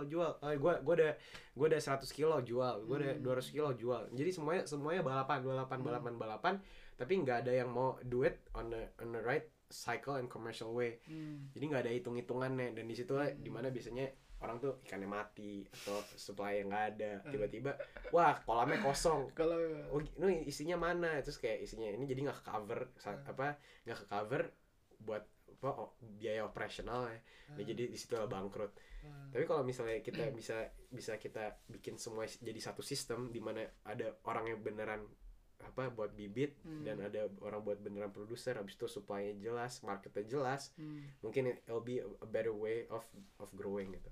Gue udah 100 kilo jual, gue udah 200 kilo jual. Jadi semuanya balapan. Tapi nggak ada yang mau do it on the right cycle and commercial way. Jadi nggak ada hitung-hitungannya, dan di situ dimana biasanya orang tuh ikannya mati atau supply yang nggak ada, tiba-tiba wah kolamnya kosong, oh ini isinya mana, terus kayak isinya ini jadi nggak ke cover buat biaya operasional ya. Nah, jadi di situ lah bangkrut. Tapi kalau misalnya kita bisa kita bikin semua jadi satu sistem di mana ada orang yang beneran buat bibit dan ada orang buat beneran produser, habis itu supply-nya jelas, marketnya jelas, mungkin it'll be a better way of growing gitu.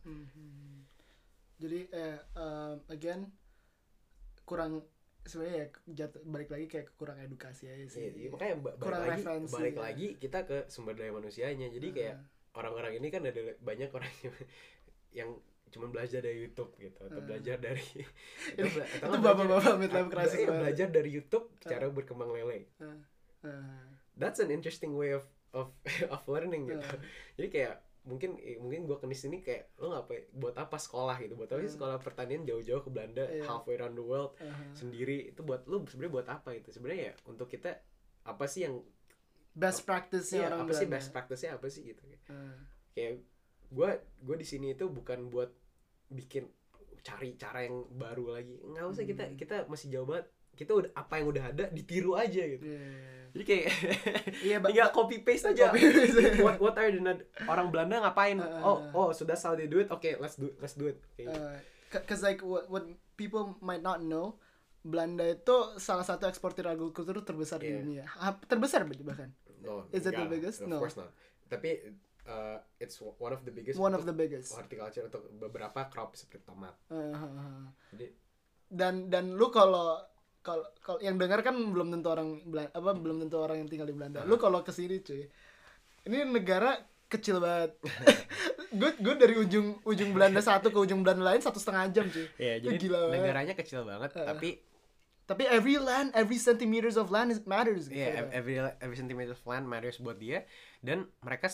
Jadi again kurang sebenarnya ya balik lagi kayak kurang edukasi aja sih. Iya, makanya balik lagi kita ke sumber daya manusianya. Jadi kayak orang-orang ini kan ada banyak orang yang cuma belajar dari YouTube gitu, atau belajar dari itu bapak-bapak midlife crisis belajar dari YouTube cara berkembang lele. That's an interesting way of learning gitu. Jadi kayak mungkin gue ke sini kayak lo buat apa sekolah gitu, buat apa sih sekolah pertanian jauh-jauh ke Belanda, halfway around the world sendiri, itu buat lo sebenarnya buat apa gitu sebenarnya ya, untuk kita apa sih yang best practice-nya orang apa sih best practice-nya apa sih gitu. Kayak gue di sini itu bukan buat bikin cari cara yang baru lagi, nggak usah. Kita masih jauh banget, kita udah apa yang udah ada ditiru aja gitu. Jadi kayak tinggal copy paste aja. What are orang Belanda ngapain? So that's how they do it. Okay, let's do it. Cause like what people might not know, Belanda itu salah satu eksportir agrikultur terbesar di dunia. Terbesar bahkan. No, is it the biggest? Of course not. Tapi it's one of the biggest. Horticulture untuk beberapa crop seperti tomat. Jadi dan lu kalau yang dengar kan belum tentu orang yang tinggal di Belanda. Lu kalau kesini cuy, ini negara kecil banget. gue dari ujung Belanda satu ke ujung Belanda lain 1,5 jam cuy. Iya, jadi gila negaranya kecil banget, tapi every centimeters of land matters. Iya, every centimeter of land matters buat dia, dan mereka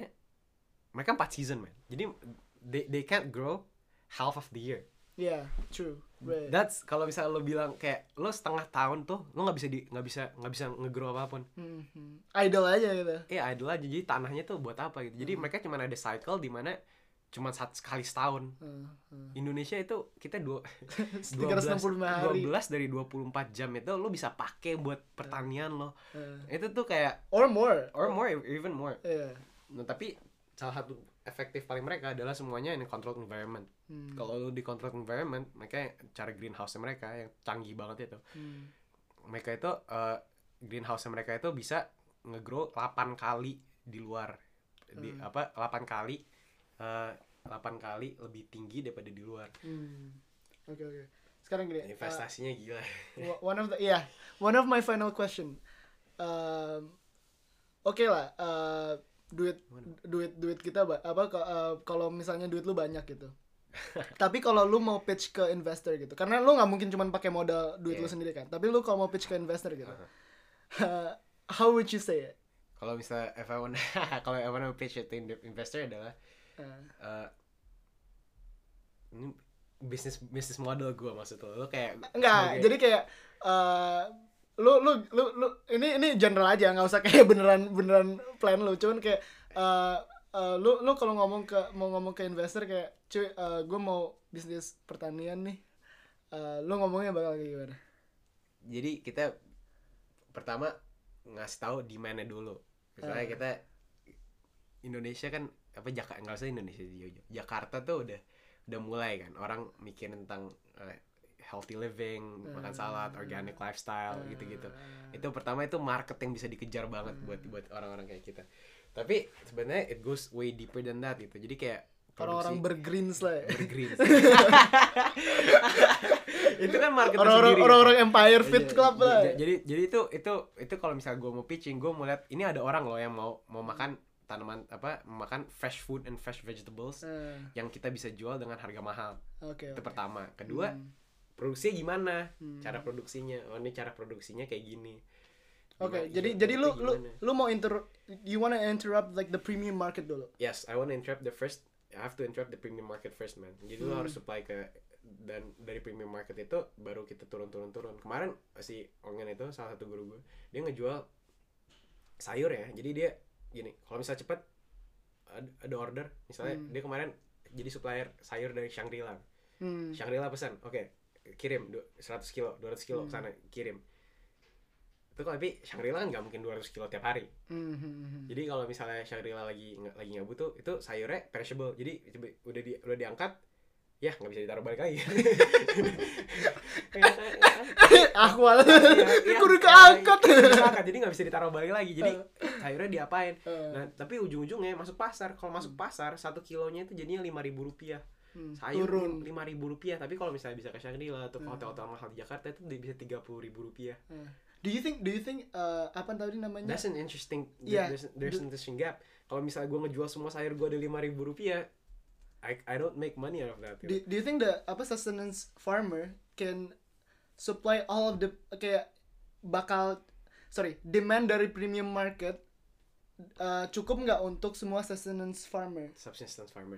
4 season, man. Jadi they can't grow half of the year. Yeah, true. Right. That's kalau misalnya lo bilang kayak lo setengah tahun tuh lo nggak bisa nge-grow apapun. Idle aja gitu. Iya, idle aja. Jadi tanahnya tuh buat apa gitu. Jadi mereka cuma ada cycle di mana cuma sekali setahun. Indonesia itu kita 12 dari 24 jam itu lo bisa pakai buat pertanian lo. Itu tuh kayak or more, even more. Yeah. Nah, tapi salah satu efektif paling mereka adalah semuanya in controlled environment. Kalau lu di controlled environment, mereka cara greenhouse mereka yang canggih banget itu. Mereka itu greenhouse mereka itu bisa nge-grow 8 kali di luar. 8 kali lebih tinggi daripada di luar. Oke. Sekarang gini, investasinya gila. One of my final question. Oke lah, duit kita kalau misalnya duit lu banyak gitu. Tapi kalau lu mau pitch ke investor gitu, karena lu nggak mungkin cuma pakai modal duit lu sendiri kan. Tapi lu kalau mau pitch ke investor gitu, how would you say it? Kalau misalnya if I wanna pitch it to investor adalah Eh, ini bisnis model gue maksud lo kayak Enggak, jadi kayak lu ini general aja, nggak usah kayak beneran plan lu, cuman kayak lu kalau mau ngomong ke investor kayak cuy, gue mau bisnis pertanian nih, lu ngomongnya bakal kayak gimana? jadi kita pertama ngasih tahu demand-nya dulu. Misalnya kita Indonesia kan apa nggak usah Indonesia sih, Jakarta tuh udah mulai kan orang mikir tentang healthy living, makan salad, organic lifestyle gitu-gitu. Itu pertama, itu market yang bisa dikejar banget buat orang-orang kayak kita. Tapi sebenarnya it goes way deeper than that gitu. Jadi kayak Orang-orang bergreens lah ya. bergreens. Itu kan market sendiri. Orang-orang Empire Fit Club lah. Jadi itu kalau misalnya gue mau pitching, gue mau lihat ini ada orang loh yang mau makan tanaman makan fresh food and fresh vegetables yang kita bisa jual dengan harga mahal. Itu pertama. Kedua, produksinya gimana? Cara produksinya. Oh, ini cara produksinya kayak gini. Jadi lu mau you wanna interrupt like the premium market dulu? Yes, I wanna interrupt I have to interrupt the premium market first, man. Jadi lu harus supply dan dari premium market itu baru kita turun. Kemarin si Ongen itu salah satu guru gue, dia ngejual sayur ya. Jadi dia gini, kalau misalnya cepat ada order, misalnya dia kemarin jadi supplier sayur dari Shangri-La. Shangri-La pesan, oke, kirim 100 kilo, 200 kilo ke sana, kirim. Itu tapi Shangri-La nggak mungkin 200 kilo tiap hari. Jadi kalau misalnya Shangri-La lagi nggak butuh, itu sayurnya perishable. Jadi udah diangkat, ya nggak bisa ditaruh balik lagi. Aku kudu keangkat. Jadi nggak bisa ditaruh balik lagi. Jadi sayurnya diapain? Nah, tapi ujung-ujungnya masuk pasar. Kalau masuk pasar 1 kilonya itu jadinya Rp5.000. Sayur Rp5.000. Tapi kalau misalnya bisa ke Shangri-La atau hotel-hotel mahal di Jakarta itu bisa Rp30.000. Do you think apa tadi namanya? That's an interesting there's an interesting gap. Kalau misalnya gue ngejual semua sayur gue ada Rp5.000, I don't make money out of that. Do you think the sustenance farmer can supply all of the demand dari premium market cukup nggak untuk semua sustenance farmer? Subsistence farmers.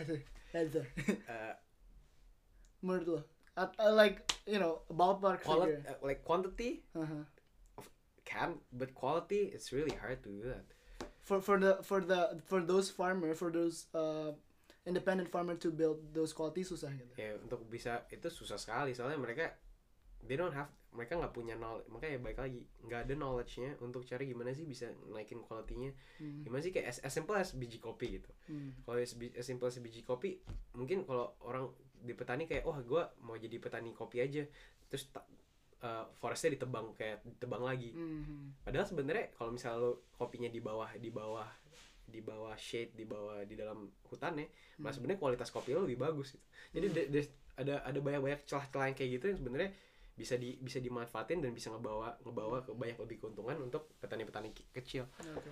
Menurut lo? Like, you know, ballpark figure. Like quantity but quality, it's really hard to do that. For those farmer, for those independent farmer to build those quality susah gitu. Ya, untuk bisa itu susah sekali, soalnya mereka nggak punya knowledge. Makanya baik lagi, nggak ada knowledge-nya untuk cari gimana sih bisa naikin quality-nya. Gimana sih, kayak as simple as biji kopi gitu. Kalau as simple as biji kopi, mungkin kalau orang di petani kayak, gue mau jadi petani kopi aja, terus forestnya ditebang lagi. Padahal sebenarnya kalau misalnya lo kopinya di bawah shade, di dalam hutannya, malah sebenarnya kualitas kopi lo lebih bagus gitu. Jadi ada banyak celah-celah yang kayak gitu yang sebenarnya bisa dimanfaatin dan bisa ngebawa ke banyak lebih keuntungan untuk petani-petani kecil.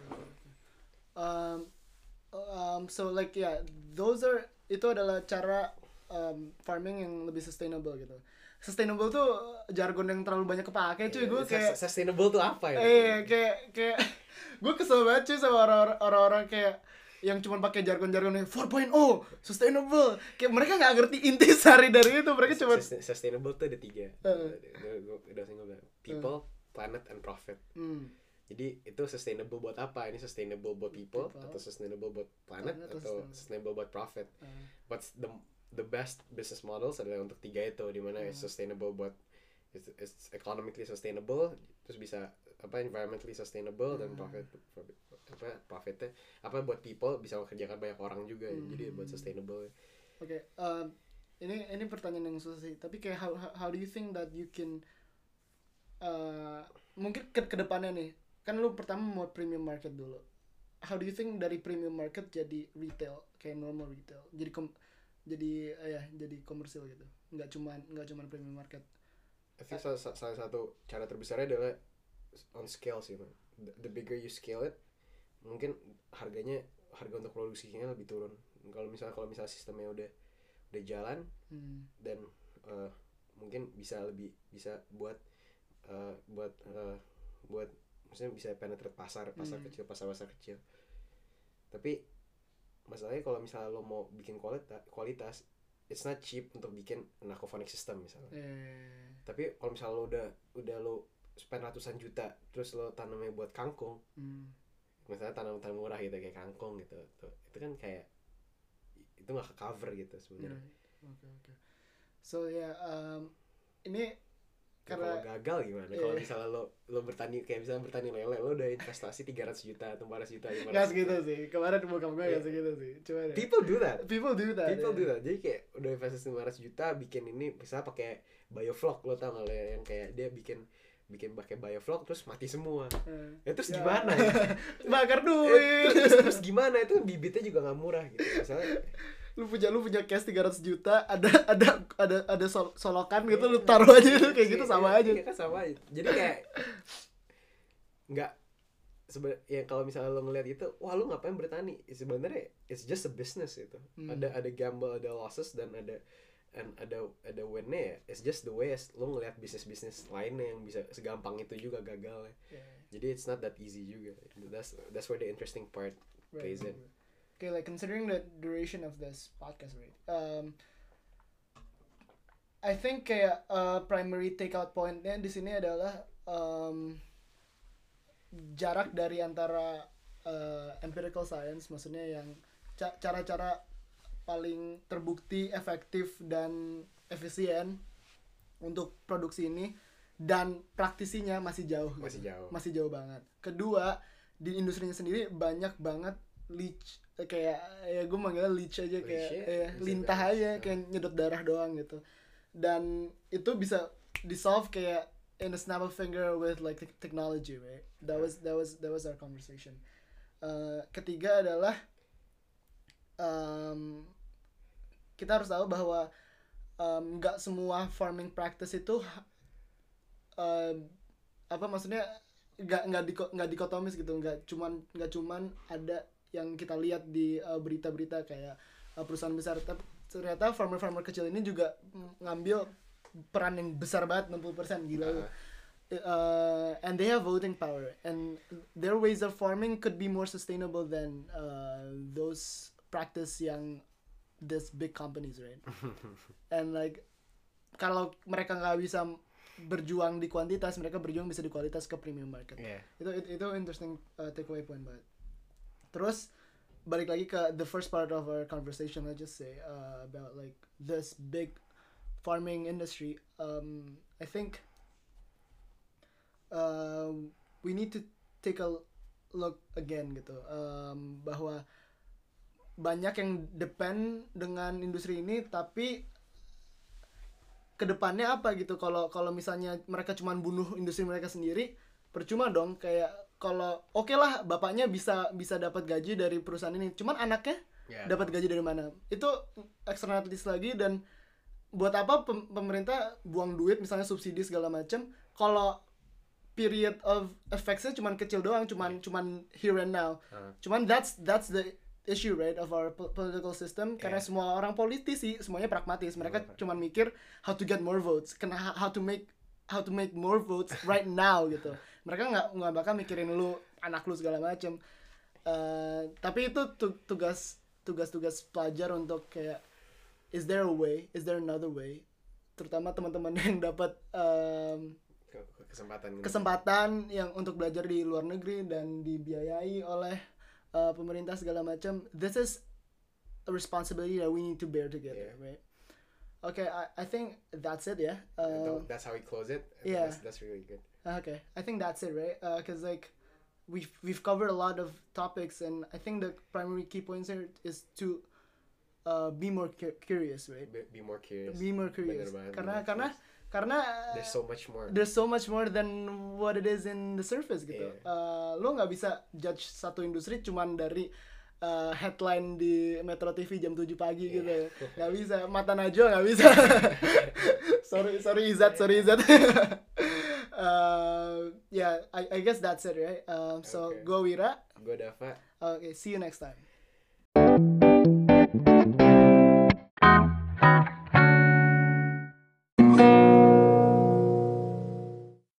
So like itu adalah cara farming yang lebih sustainable gitu. Sustainable tuh jargon yang terlalu banyak kepake cuy. Gue kayak sustainable tuh apa ya? Kayak gue kesel banget cuy sama orang-orang kayak yang cuma pakai jargon-jargon yang 4.0 sustainable. Kayak mereka nggak ngerti intisari dari itu. Mereka cuma sustainable tuh ada 3. Udah single people, planet, and profit. Jadi itu sustainable buat apa? Ini sustainable buat people. Atau sustainable buat planet atau sustainable buat profit. What's the best business models adalah untuk 3 itu, dimana it's sustainable buat it's economically sustainable, terus bisa environmentally sustainable, dan profitnya buat people, bisa mengerjakan banyak orang juga. Jadi buat sustainable. Oke, ini pertanyaan yang susah sih, tapi kayak how do you think that you can mungkin ke depannya nih, kan lu pertama mau premium market dulu, how do you think dari premium market jadi retail, kayak normal retail, jadi komersil gitu, nggak cuman premium market. I think salah satu cara terbesarnya adalah on scale sih, man. The bigger you scale it, mungkin harga untuk produksinya lebih turun. Kalau misalnya sistemnya udah jalan, dan mungkin bisa buat maksudnya bisa penetrate pasar kecil. Tapi masalahnya kalau misalnya lo mau bikin kualitas it's not cheap untuk bikin an aquaponic system misalnya. Tapi kalau misalnya lo udah lo spend ratusan juta terus lo tanamnya buat kangkung, misalnya tanam murah gitu kayak kangkung gitu, itu kan kayak itu nggak ke cover gitu sebenarnya. Okay. So ini karena kalau gagal gimana? Kalau misalnya lo bertani kayak misalnya bertani lele, lo udah investasi 300 juta atau 400 juta. Nggak segitu sih. Kemarin bokap gue nggak segitu sih. Cuma People do that. Yeah. Jadi kayak udah investasi 500 juta bikin ini misalnya pakai bioflok, lo tau nggak lo yang kayak dia bikin pakai bioflok terus mati semua. Terus gimana ya? Bakar duit. Terus gimana? Itu bibitnya juga nggak murah gitu. Misalnya lu punya cash 300 juta, ada solokan gitu, lu taruh aja itu kayak gitu sama aja. Iya kan sama aja. Jadi kayak nggak ya kalau misalnya lo ngeliat itu, wah lu ngapain bertani? Sebenarnya it's just a business itu. Ada gamble, ada losses dan ada win-nya ya. It's just the way lo ngeliat bisnis lainnya yang bisa segampang itu juga gagalnya. Jadi it's not that easy juga. That's where the interesting part plays in. Okay, like considering the duration of this podcast, right? I think kayak primary takeout point-nya di sini adalah jarak dari antara empirical science, maksudnya yang cara-cara paling terbukti efektif dan efisien untuk produksi ini dan praktisinya masih jauh banget. Kedua, di industrinya sendiri banyak banget leech, kayak ya gue manggilnya leech aja, kayak lintah aja, kayak nyedot darah doang gitu. Dan itu bisa di-solve kayak in a snap of finger with like technology, right? That was our conversation. Ketiga adalah kita harus tahu bahwa nggak semua farming practice itu maksudnya nggak dikotomis gitu, nggak cuman ada yang kita lihat di berita-berita kayak perusahaan besar. Ternyata farmer kecil ini juga ngambil peran yang besar banget, 60%, gila. And they have voting power and their ways of farming could be more sustainable than those practice yang this big companies, right? And like kalau mereka nggak bisa berjuang di kuantitas, mereka berjuang bisa di kualitas ke premium market. Itu interesting takeaway point banget. Terus balik lagi ke the first part of our conversation, I just say about like this big farming industry. I think we need to take a look again gitu, bahwa banyak yang depend dengan industri ini, tapi kedepannya apa gitu. Kalau misalnya mereka cuma bunuh industri mereka sendiri, percuma dong. Kayak kalau oke lah bapaknya bisa dapat gaji dari perusahaan ini, cuman anaknya dapat gaji dari mana? Itu externalities lagi. Dan buat apa pemerintah buang duit misalnya subsidi segala macam kalau period of effects-nya cuman kecil doang, cuman here and now. Cuman that's the issue, right, of our political system. Karena semua orang politisi semuanya pragmatis. Mereka cuman mikir how to get more votes, how to make more votes right now gitu. Mereka nggak bakal mikirin anak lu segala macam. Tapi itu tugas pelajar untuk kayak is there another way, terutama teman-teman yang dapat kesempatan yang untuk belajar di luar negeri dan dibiayai oleh pemerintah segala macam. This is a responsibility that we need to bear together, right? Okay, I think that's it, yeah. That's how we close it. That's really good. Okay, I think that's it, right? Because like we've covered a lot of topics, and I think the primary key points here is to be more curious, right? Be more curious. Karena there's so much more than what it is in the surface gitu. Lo nggak bisa judge satu industri cuman dari headline di Metro TV jam 7 pagi gitu. Nggak bisa, mata najwa nggak bisa. sorry Izat. I guess that's it, right? So go Wira. Go Dava. Okay, see you next time.